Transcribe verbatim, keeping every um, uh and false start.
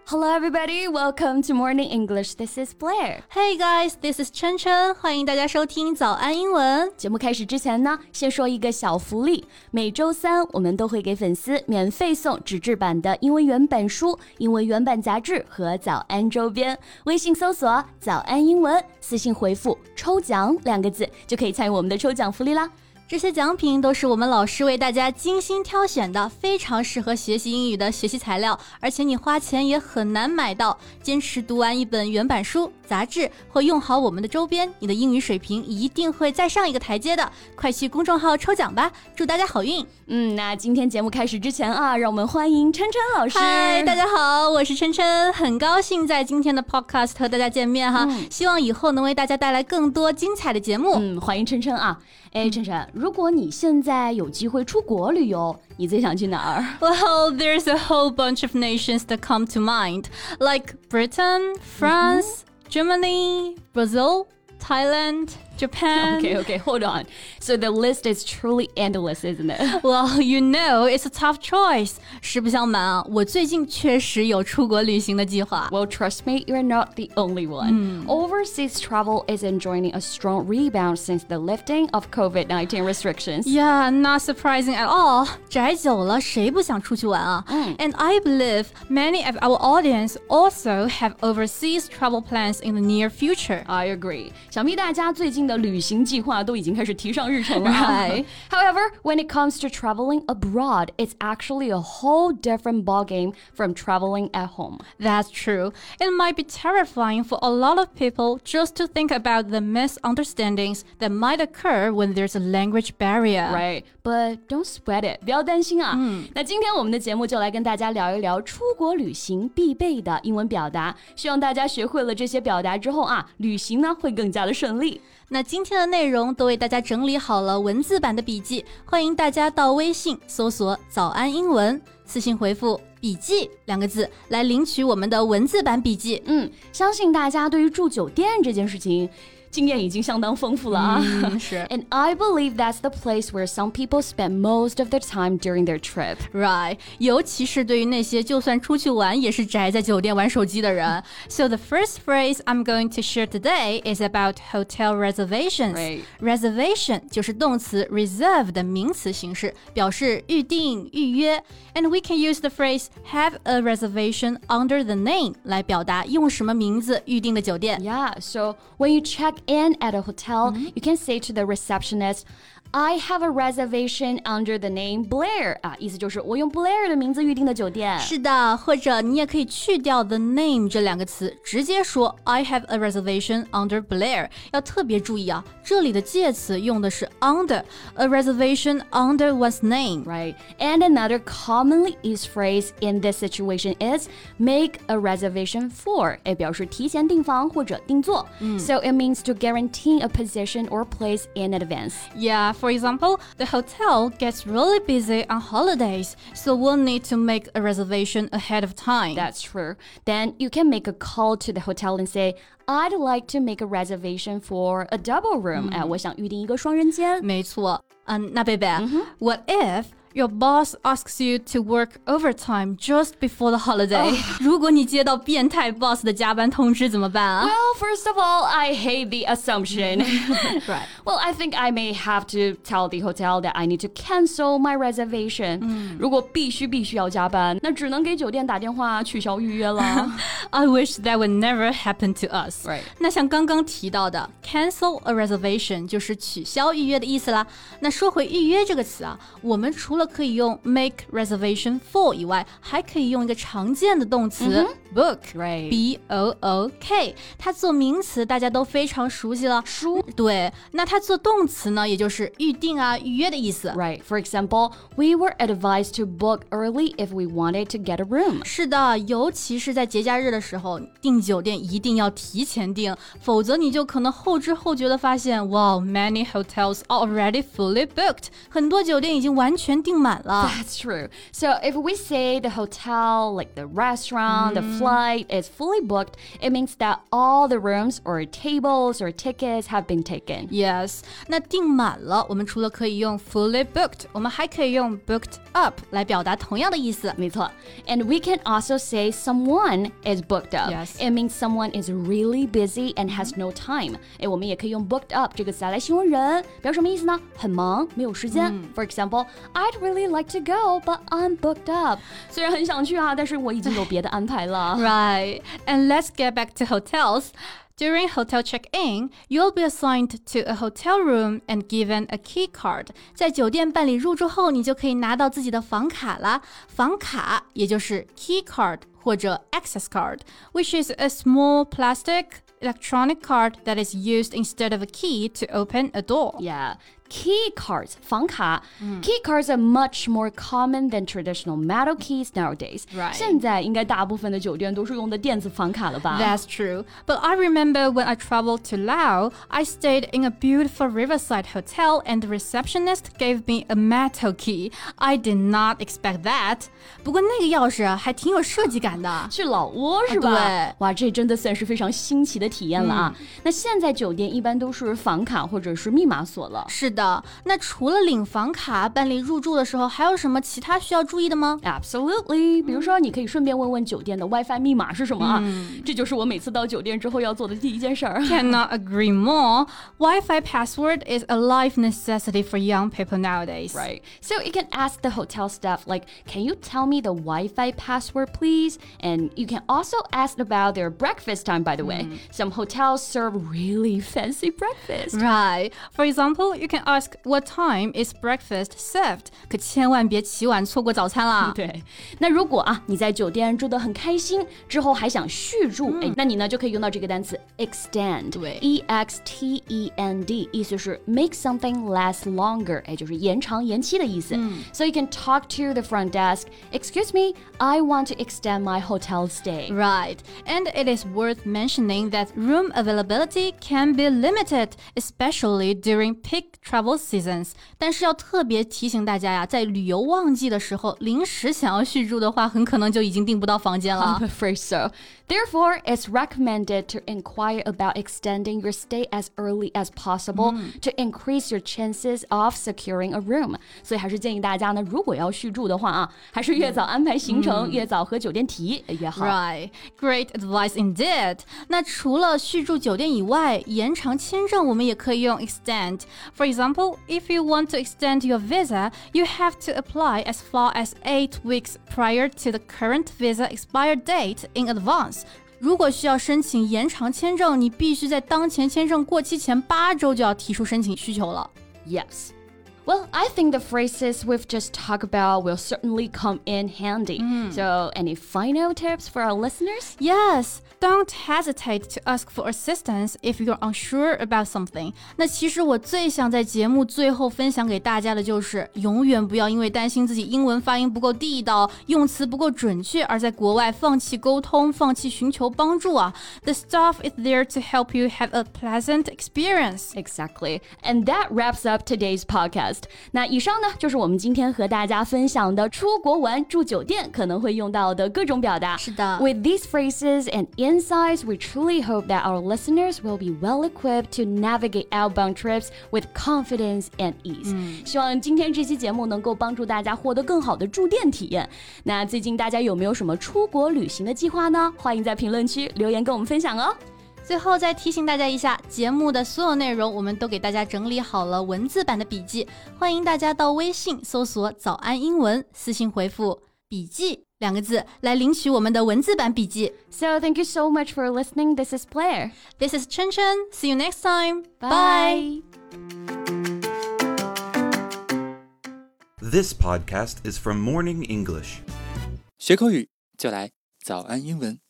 Hello everybody, welcome to Morning English. This is Blair. Hey guys, this is 琛琛，欢迎大家收听早安英文。 节目开始之前呢，先说一个小福利。每周三我们都会给粉丝免费送纸质版的英文原版书、英文原版杂志和早安周边。微信搜索早安英文，私信回复抽奖两个字就可以参与我们的抽奖福利啦。 这些奖品都是我们老师为大家精心挑选的，非常适合学习英语的学习材料，而且你花钱也很难买到。坚持读完一本原版书、杂志或用好我们的周边，你的英语水平一定会再上一个台阶的。快去公众号抽奖吧，祝大家好运。 嗯，那今天节目开始之前啊，让我们欢迎琛琛老师。 嗨，大家好，我是琛琛，很高兴在今天的 podcast 和大家见面哈、嗯、希望以后能为大家带来更多精彩的节目。 嗯，欢迎琛琛啊。哎，琛琛，如果你现在有机会出国旅游，你最想去哪儿？ Well, there's a whole bunch of nations that come to mind, like Britain, France, mm-hmm. Germany, Brazil, Thailand, Japan. Okay, okay, hold on. So the list is truly endless, isn't it? Well, you know, it's a tough choice. 实不相瞒啊，我最近确实有出国旅行的计划。 Well, trust me, you're not the only one. Mm. Overseas travel is enjoying a strong rebound since the lifting of covid nineteen restrictions. Yeah, not surprising at all. 宅久了，谁不想出去玩啊？ Mm. And I believe many of our audience also have overseas travel plans in the near future. I agree. 想必大家最近的旅行计划都已经开始提上日程了。 Right. However, when it comes to traveling abroad, it's actually a whole different ballgame from traveling at home. That's true. It might be terrifying for a lot of people just to think about the misunderstandings that might occur when there's a language barrier. Right, but don't sweat it. 不要担心啊。 嗯， 那今天我们的节目就来跟大家聊一聊出国旅行必备的英文表达。希望大家学会了这些表达之后啊，旅行呢会更加的顺利。 那今天的内容都为大家整理好了文字版的笔记，欢迎大家到微信搜索早安英文，私信回复笔记两个字来领取我们的文字版笔记。 嗯，相信大家对于住酒店这件事情经验已经相当丰富了啊。 嗯，是。 And I believe that's the place where some people spend most of their time during their trip. Right. 尤其是对于那些就算出去玩也是宅在酒店玩手机的人。So the first phrase I'm going to share today is about hotel reservations. Right. Reservation 就是动词 reserve 的名词形式，表示预定、预约。And we can use the phrase have a reservation under the name 来表达用什么名字预定的酒店。 Yeah, so when you check in at a hotel, mm-hmm. you can say to the receptionist, I have a reservation under the name Blair. 啊，意思就是我用 Blair 的名字预定的酒店。 是的，或者你也可以去掉 the name 这两个词，直接说 I have a reservation under Blair. 要特别注意啊，这里的介词用的是 under, a reservation under one's name. Right. And another commonly used phrase in this situation is make a reservation for. 也表示提前订房或者订座。嗯、so it means to guarantee a position or place in advance. Yeah.For example, the hotel gets really busy on holidays, so we'll need to make a reservation ahead of time. That's true. Then you can make a call to the hotel and say, I'd like to make a reservation for a double room. 哎、嗯，我想预定一个双人间。 没错。嗯，那贝贝、mm-hmm. What if your boss asks you to work overtime just before the holiday. 如果你接到变态 boss 的加班通知怎么办啊？ Well, first of all, I hate the assumption. Right. Well, I think I may have to tell the hotel that I need to cancel my reservation. 如果必须必须要加班，那只能给酒店打电话取消预约了。 I wish that would never happen to us. Right. 那像刚刚提到的 cancel a reservation 就是取消预约的意思啦。那说回预约这个词啊，我们除了可以用 make reservation for 以外，还可以用一个常见的动词、mm-hmm. book, right. B O O K. 它做名词大家都非常熟悉了， 书。 对，那它做动词呢，也就是预定啊、预约的意思。 Right. For example, we were advised to book early if we wanted to get a room. 是的，尤其是在节假日的时候，订酒店一定要提前订，否则你就可能后知后觉的发现，哇、wow, many hotels are already fully booked. 很多酒店已经完全订满了。 That's true. So if we say the hotel, like the restaurant, the flight is fully booked, it means that all the rooms or tables or tickets have been taken. Yes, 那订满了，我们除了可以用 fully booked， 我们还可以用 booked up 来表达同样的意思。 没错. And we can also say someone is booked up. Yes. It means someone is really busy and has no time. 诶，我们也可以用 booked up 这个词来形容人，表示什么意思呢？很忙，没有时间。For example, I'd really like to go, but I'm booked up. 虽然很想去啊，但是我已经有别的安排了。 Right, and let's get back to hotels. During hotel check-in, you'll be assigned to a hotel room and given a key card. 在酒店办理入住后，你就可以拿到自己的房卡啦。房卡也就是 key card 或者 access card, which is a small plastic electronic card that is used instead of a key to open a door. Yeah. Key cards, 房卡. Key cards are much more common than traditional metal keys nowadays. Right. 现在应该大部分的酒店都是用的电子房卡了吧？ That's true. But I remember when I traveled to Laos, I stayed in a beautiful riverside hotel and the receptionist gave me a metal key. I did not expect that. 不过那个钥匙啊，还挺有设计感的。 去老挝是吧？ 对。 哇，这真的算是非常新奇的体验了啊。那现在酒店一般都是房卡或者是密码锁了。 是的。那除了领房卡办理入住的时候，还有什么其他需要注意的吗？ Absolutely. 比如说你可以顺便问问酒店的 WiFi 密码是什么啊？这就是我每次到酒店之后要做的第一件事儿。 Cannot agree more. Wi-Fi password is a life necessity for young people nowadays. Right. So you can ask the hotel staff, like, can you tell me the Wi-Fi password, please? And you can also ask about their breakfast time, by the way. Some hotels serve really fancy breakfast. Right. For example, you can ask what time is breakfast served. 可千万别起晚错过早餐啦。 对，那如果啊你在酒店住得很开心，之后还想续住，哎、嗯，那你呢就可以用到这个单词 extend。 对 ，E X T E N D， 意思是 make something last longer， 哎，就是延长延期的意思。嗯、so you can talk to the front desk. Excuse me, I want to extend my hotel stay. Right. And it is worth mentioning that room availability can be limited, especially during peak travel seasons. 但是要特别提醒大家呀，在旅游旺季的时候，临时想要续住的话，很可能就已经订不到房间了。 I'm afraid so. Therefore, it's recommended to inquire about extending your stay as early as possible、嗯、to increase your chances of securing a room. 所以还是建议大家呢，如果要续住的话啊，还是越早安排行程，嗯、越早和酒店提越好。 Right, great advice indeed. 那除了续住酒店以外，延长签证我们也可以用 extend. For example, if you want to extend your visa, you have to apply as far as eight weeks prior to the current visa expired date in advance. 如果需要申请延长签证，你必须在当前签证过期前八周就要提出申请需求了。 Yes. Well, I think the phrases we've just talked about will certainly come in handy. Mm. So, any final tips for our listeners? Yes. Don't hesitate to ask for assistance if you're unsure about something. 那其实我最想在节目最后分享给大家的就是，永远不要因为担心自己英文发音不够地道，用词不够准确，而在国外放弃沟通，放弃寻求帮助啊。The staff is there to help you have a pleasant experience. Exactly. And that wraps up today's podcast. 那以上呢，就是我们今天和大家分享的出国玩住酒店可能会用到的各种表达。 是的。 With these phrases and insights, we truly hope that our listeners will be well equipped to navigate outbound trips with confidence and ease. 嗯、 希望今天这期节目能够帮助大家获得更好的住店体验。那最近大家有没有什么出国旅行的计划呢？欢迎在评论区留言跟我们分享哦。 最后再提醒大家一下，节目的所有内容我们都给大家整理好了文字版的笔记，欢迎大家到微信搜索早安英文，私信回复笔记两个字来领取我们的文字版笔记。 So thank you so much for listening. This is Blair. This is Chen Chen. See you next time. Bye. This podcast is from Morning English. 学口语就来早安英文。